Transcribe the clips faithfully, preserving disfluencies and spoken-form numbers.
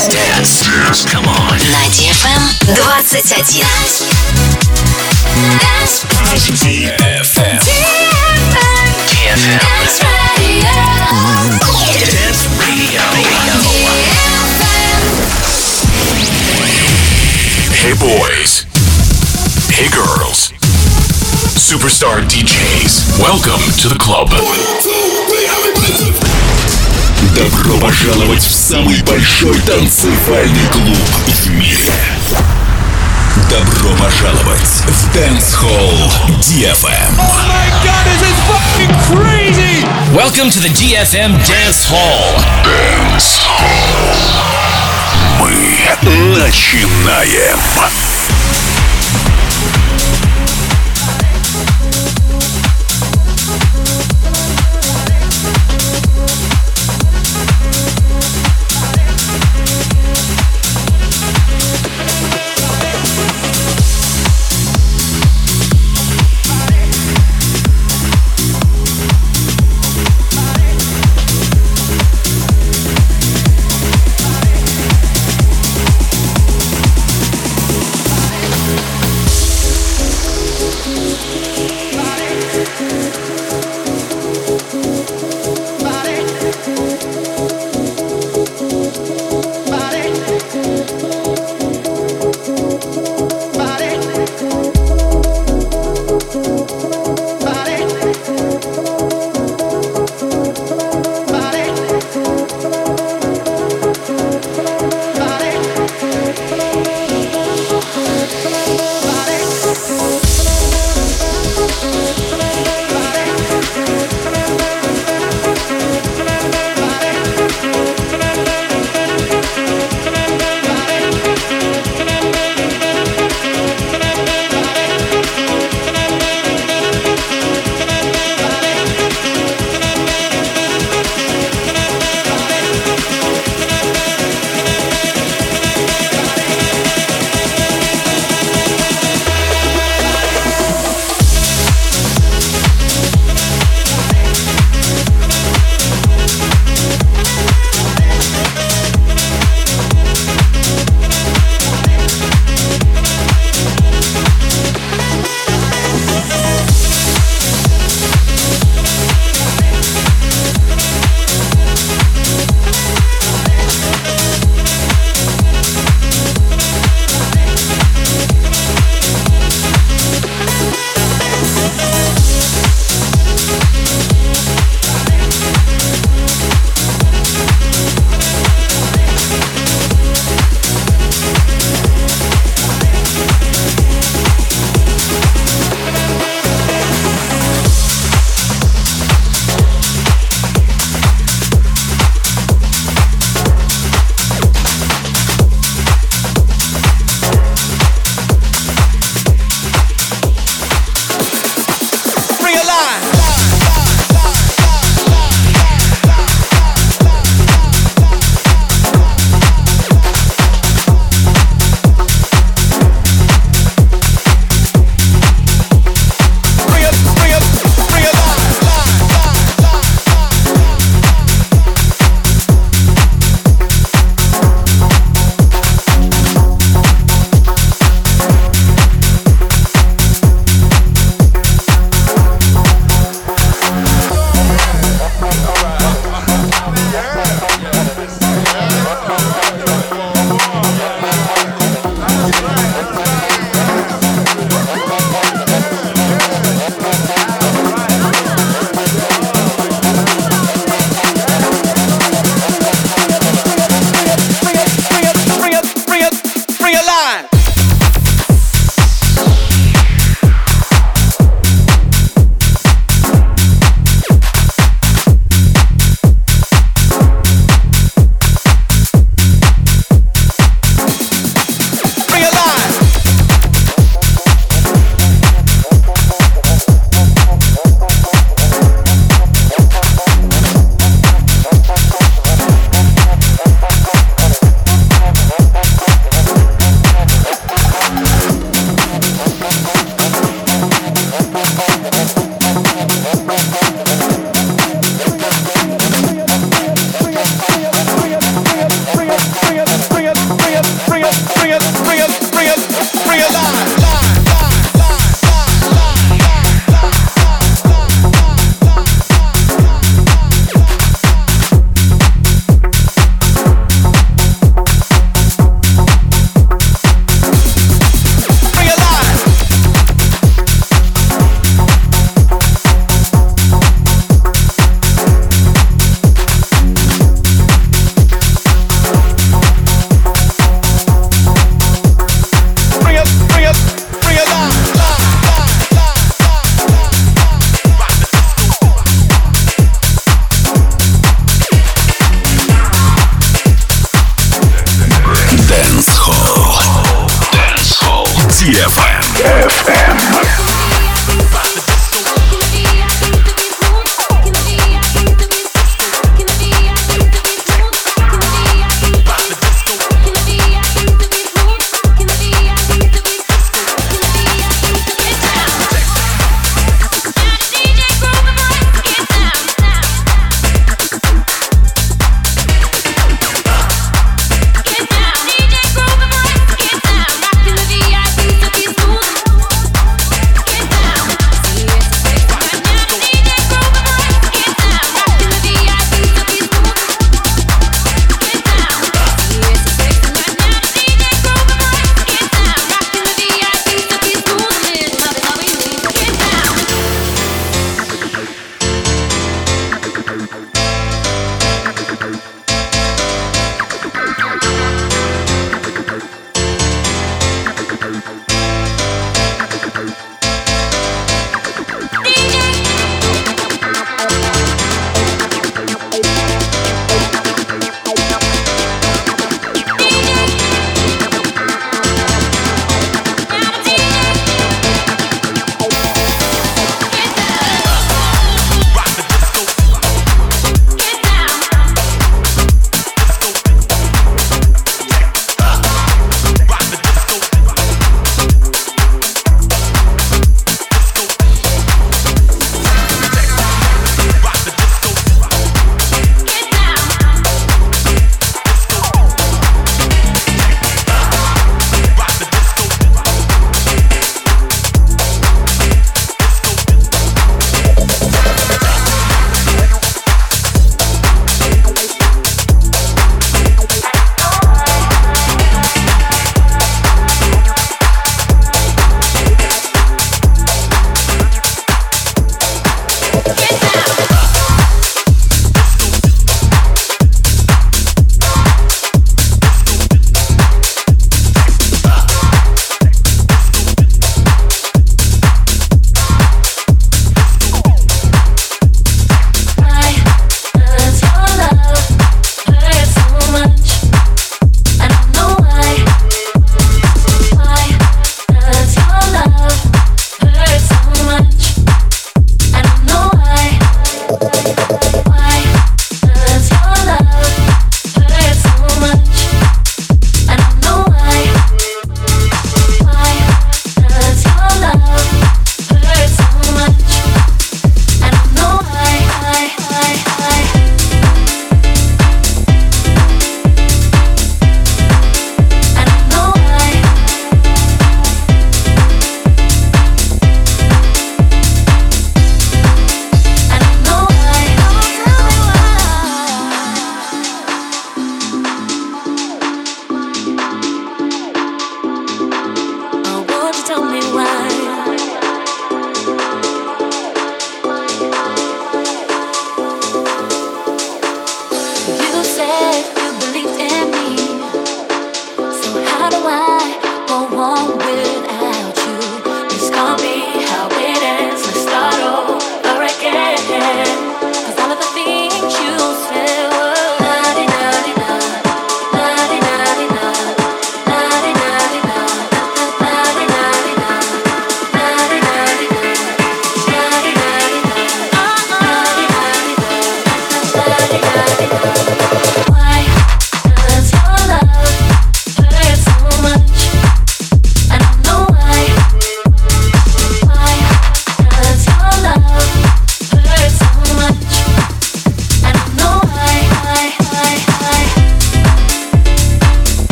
Dance. Dance. Come on. На ди эф эм двадцать один. ди эф эм. ди эф эм. Dance Radio. Hey boys. Hey girls. Superstar ди джейс. Welcome to the club. Добро пожаловать в самый большой танцевальный клуб в мире. Добро пожаловать в Dance Hall ди эф эм. Oh my god, this is fucking crazy! Welcome to the ди эф эм Dance Hall. Dance Hall. Мы начинаем. ди эф эм.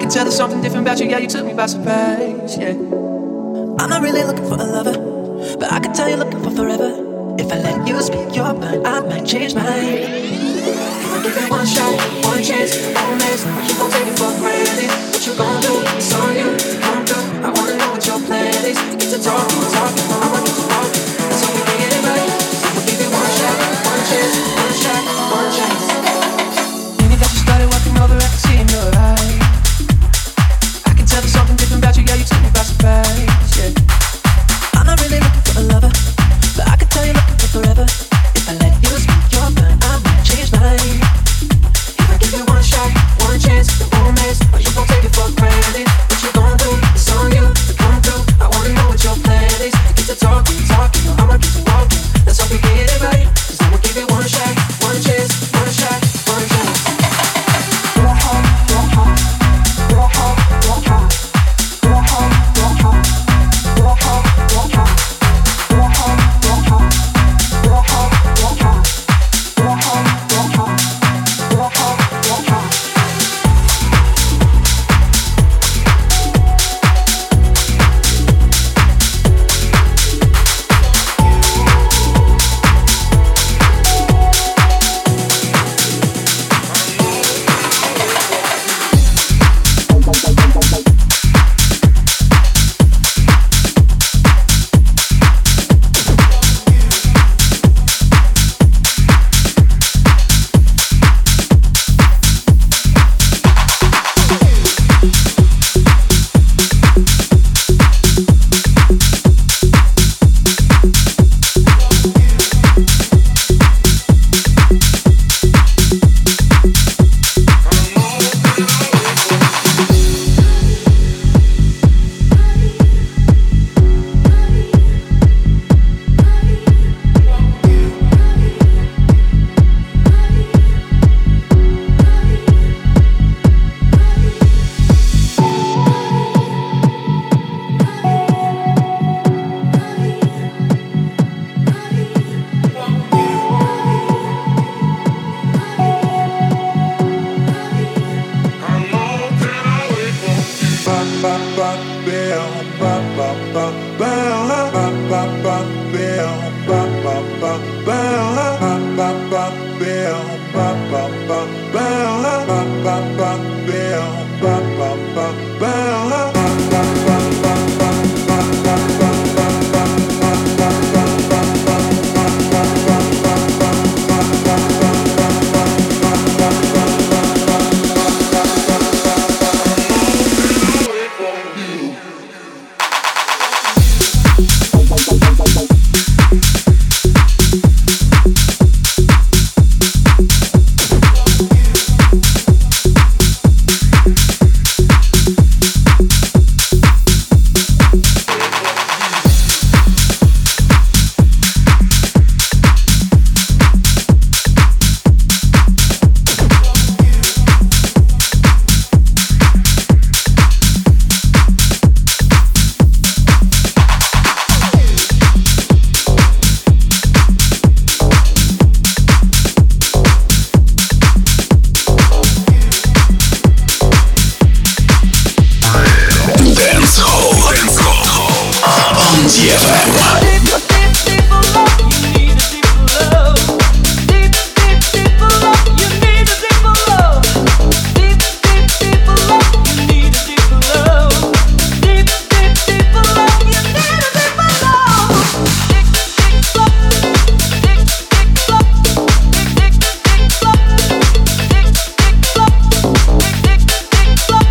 can tell there's something different about you, yeah, you took me by surprise, yeah. I'm not really looking for a lover, but I can tell you're looking for forever. If I let you speak your mind, I might change mine. If I give it one shot, one chance, one miss, you gon' take it for granted. What you gon' do? It's on you, come through. I wanna know what your plan is. Get to talking, talking, I'ma get to walking. That's how we can get it right. I'ma give it one shot, one chance, one shot, one chance. Minute that you started walking over, I can see in your eyes. I can tell there's something different about you, yeah, you took me by surprise, yeah. I'm not really looking for a lover, but I can tell you're looking for forever. If I let you speak your mind, I might change mine. If I give you one shot, one chance, it won't miss, or you gon' take it for granted. What you gon' do? It's on you to come through. I wanna know what your plan is. Get to talking, talking, or I'ma get to walking. Let's hope we get it right, 'cause I'ma give it one shot, one chance, one shot, one chance. Your heart, your heart, your heart, your heart, your heart, your heart, your heart, your heart. Your heart, your heart, your heart, your heart, your heart, your heart, your heart, your heart.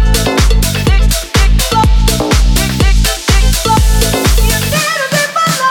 You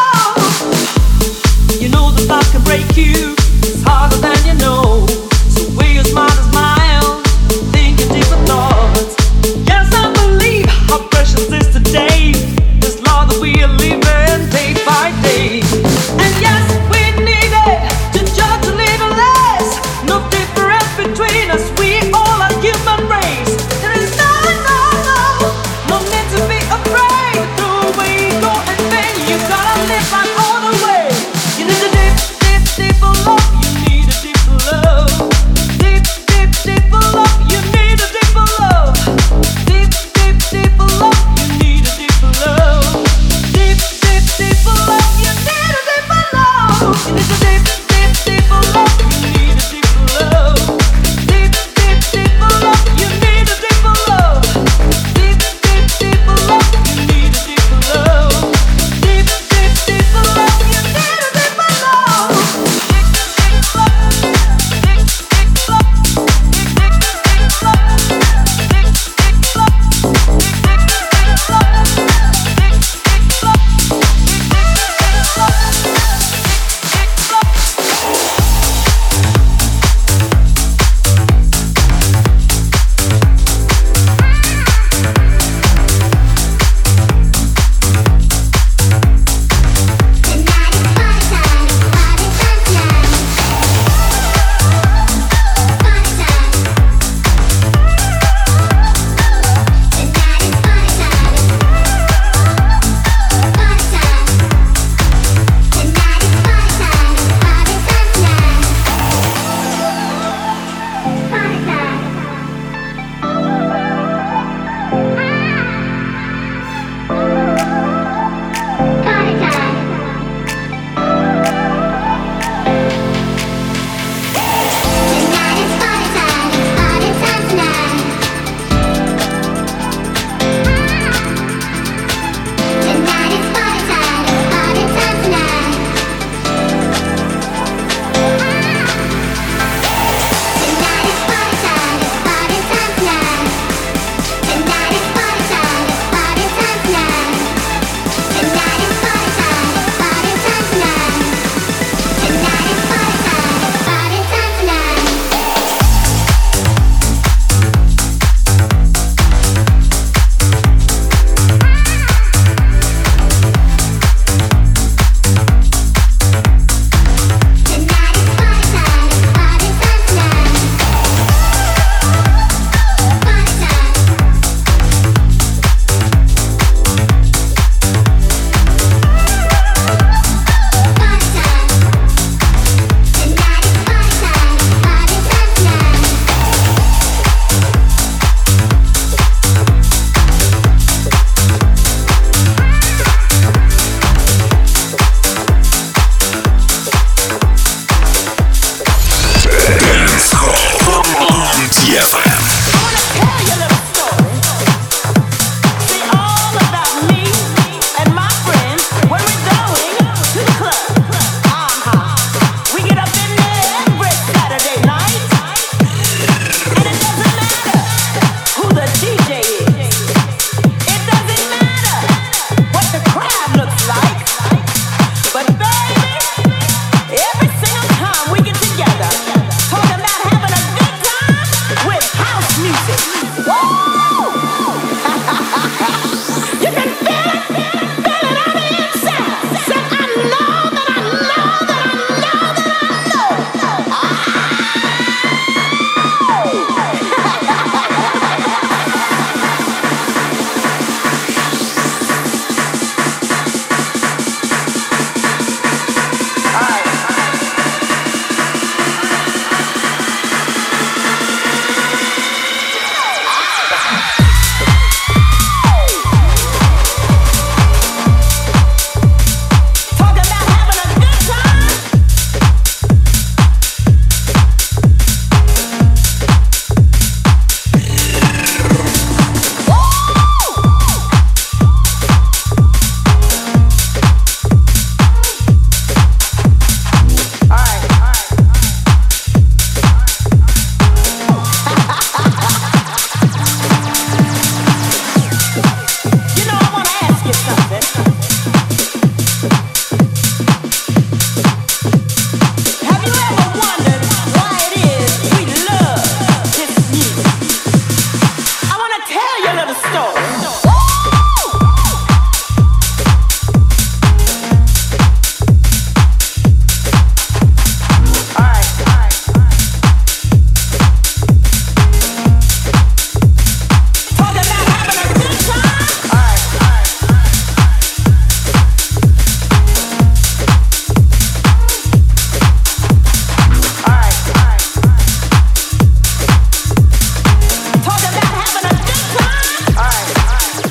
the story. Talk about having a good time. All right, all right.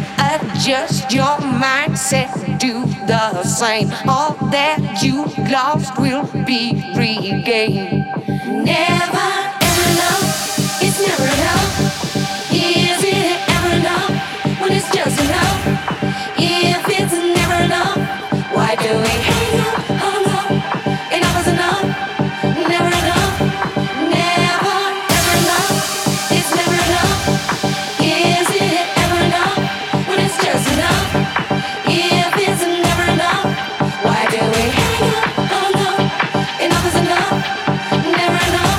Adjust your mindset, do the same. All that you lost will be regained. Never ever enough, it's never enough. Is it ever enough when it's just enough? If it's never enough, why do we hang up? Hung up, enough is enough. Never enough, never ever enough. It's never enough. Is it ever enough when it's just enough? If it's never enough, why do we hang up? Hung up, enough is enough. Never enough.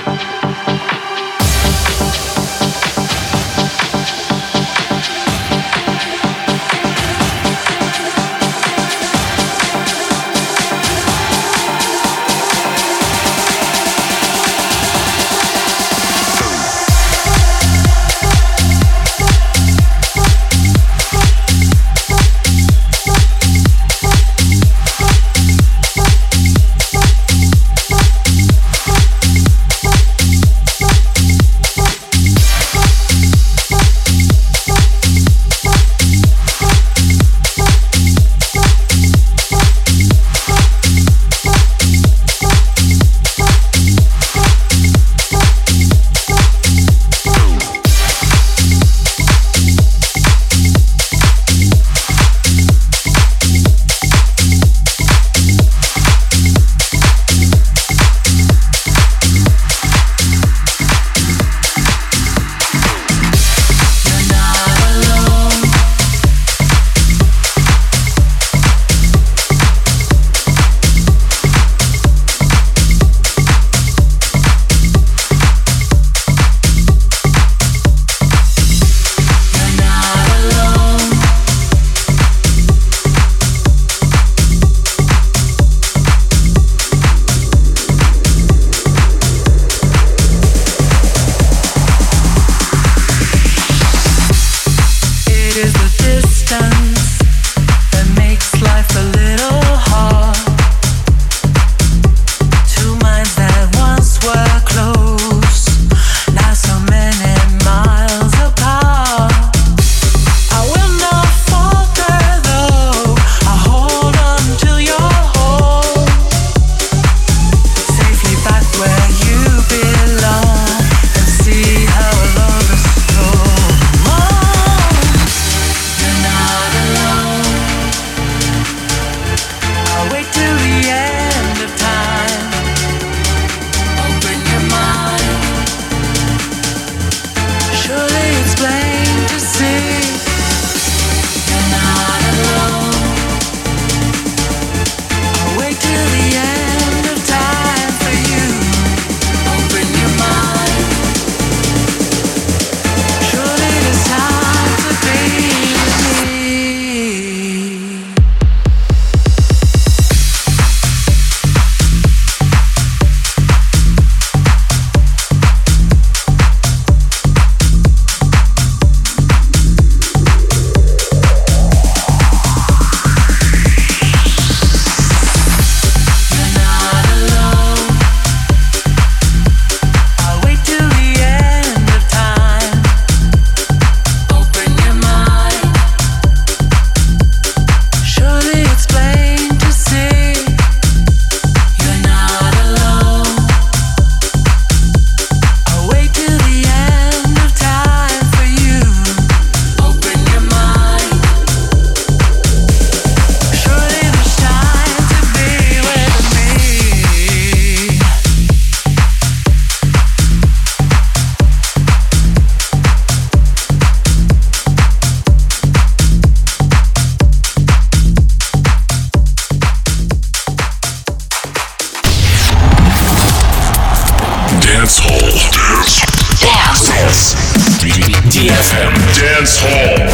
ди эф эм Dance Hall.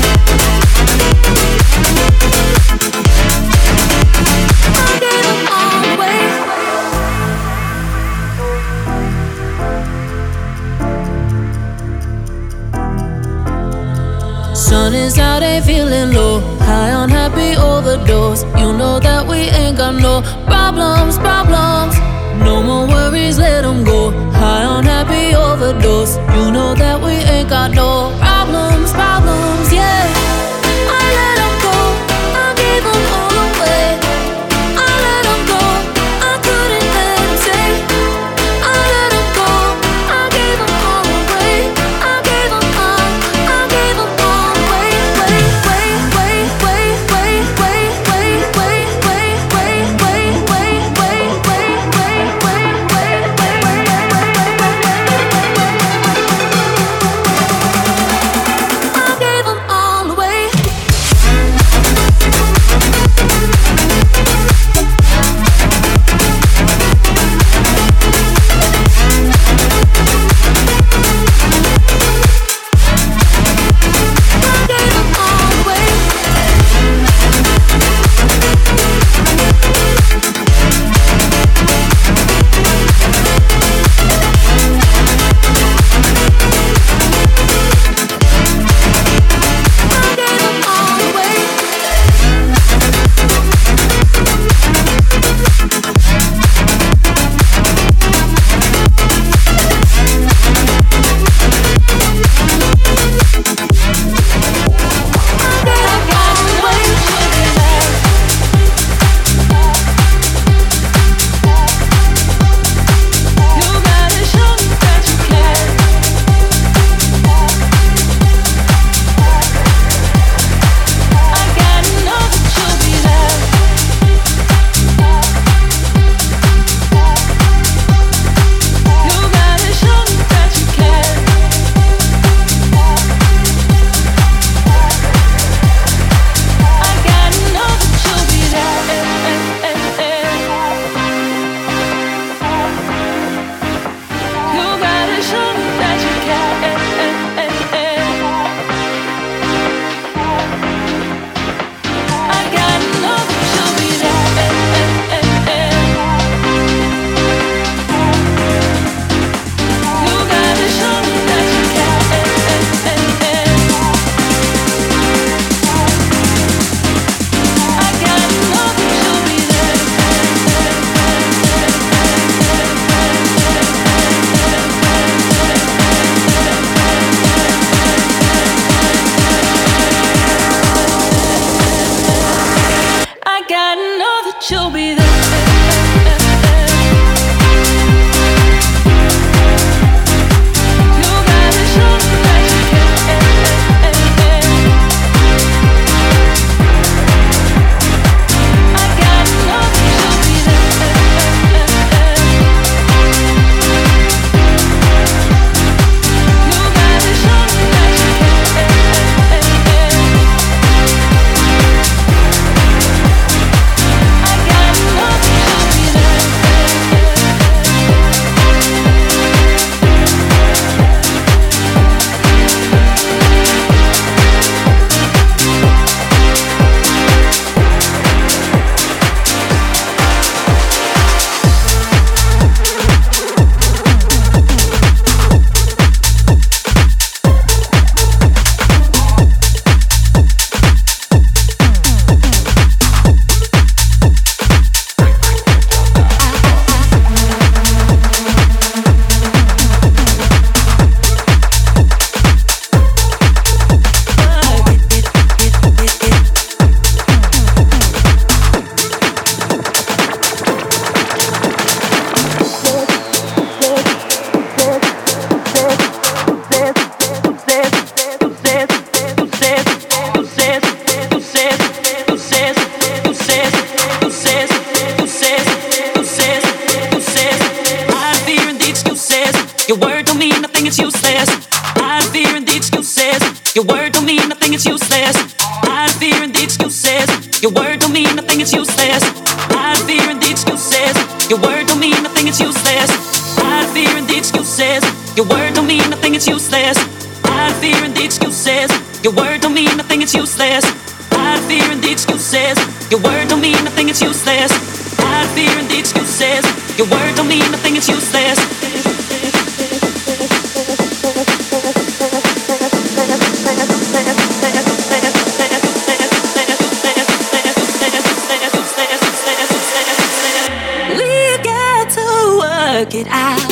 All ain't feeling low, high on happy overdose. You know that we ain't got no problems, problems. No more worries, let them go. High on happy overdose. You know that we ain't got no problems, problems, yeah. I let them go, I gave them all away. I let them go, I couldn't let them stay. I let them go, I gave them all away. I gave them all, I gave them all away. Wait, wait, wait, wait, wait, wait, wait, wait, wait, wait, wait, wait, wait, wait, wait, I gave them all away. I gave them all away. I gave them all away. I gave them all away. You gotta show me that you care. I gotta know that you'll be there. You gotta show me that you care. I gotta know that you'll be there. You gotta show me that you care. I gotta know that you'll be there. You gotta show me that you care. I gotta know that you'll be there. I gotta know that you'll be there. You gotta show me that you care. I gotta know that you'll be there. You gotta show me that you care. I gotta know that you'll be Your word don't mean nothing, it's useless. I'm fearing the excuses. Your word don't mean nothing, it's useless. I'm fearing the excuses. Your word don't mean nothing, it's useless. I'm fearing the excuses. Your word don't mean nothing, it's useless. I'm fearing the excuses. Your word don't mean nothing, it's useless. I'm fearing the excuses. Your word don't mean nothing, it's useless. I'm fearing the excuses. Your word don't mean nothing, it's useless. I'm fearing the excuses. Your word don't mean nothing, it's useless. work it out.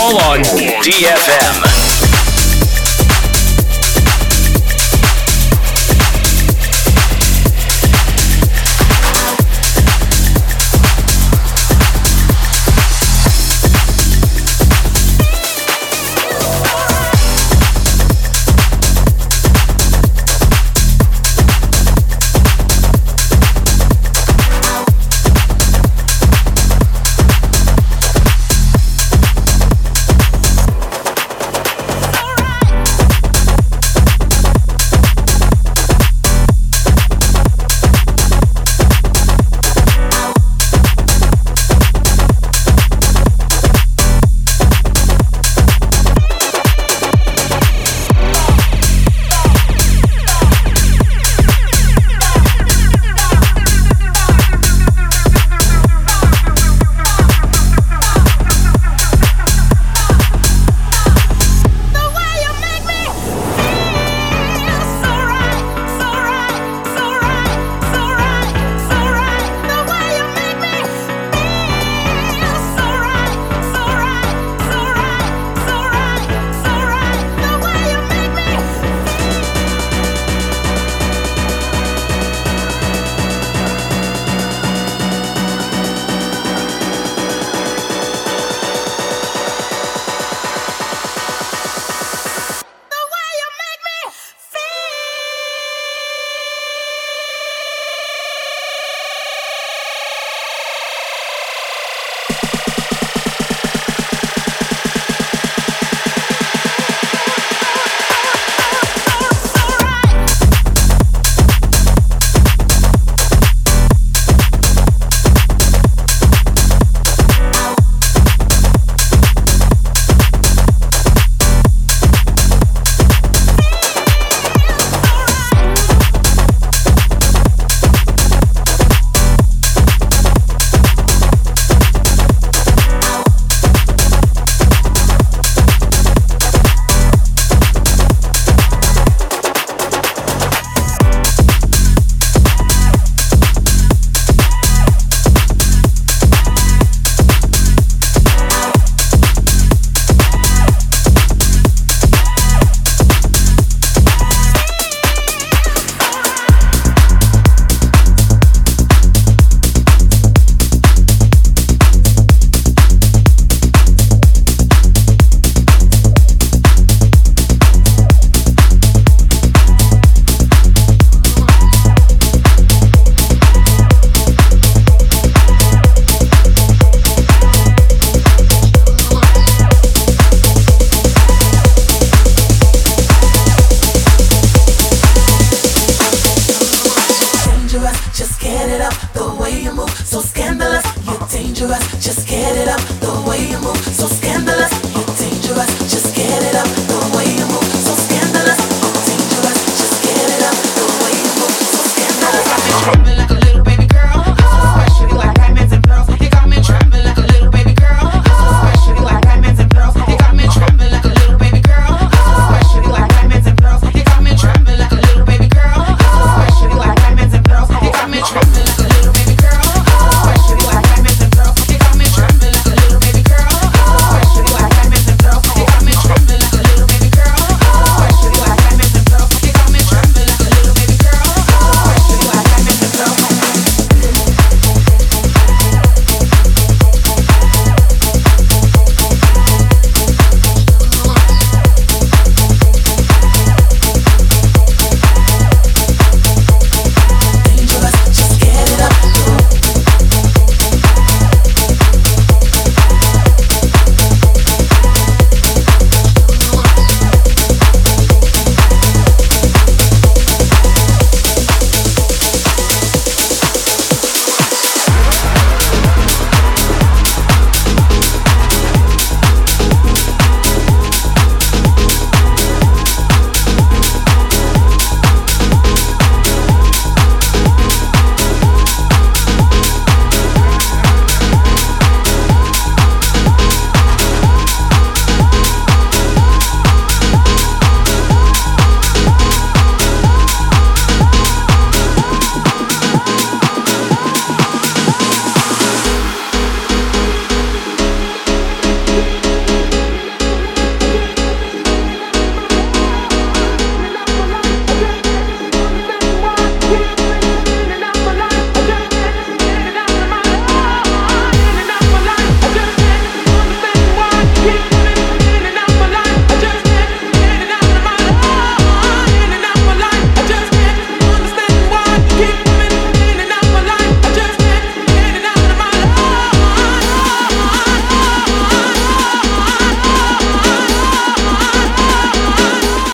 Hall on D F M.